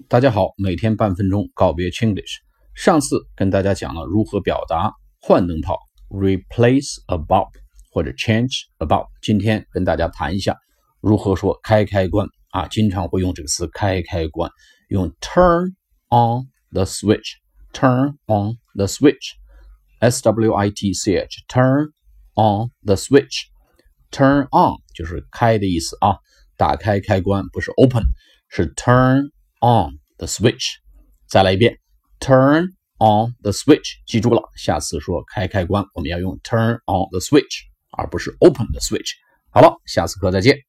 大家好，每天半分钟告别 Chinglish。上次跟大家讲了如何表达换灯泡 replace a bulb 或者 change a bulb。今天跟大家谈一下如何说开关啊，经常会用这个词开关，用 turn on the switch，turn on the switch， switch turn on the switch。turn on 就是开的意思啊，打开开关不是 open， 是 turn on the switch。 再来一遍 turn on the switch， 记住了，下次说开关我们要用 turn on the switch 而不是 open the switch。 好了，下次课再见。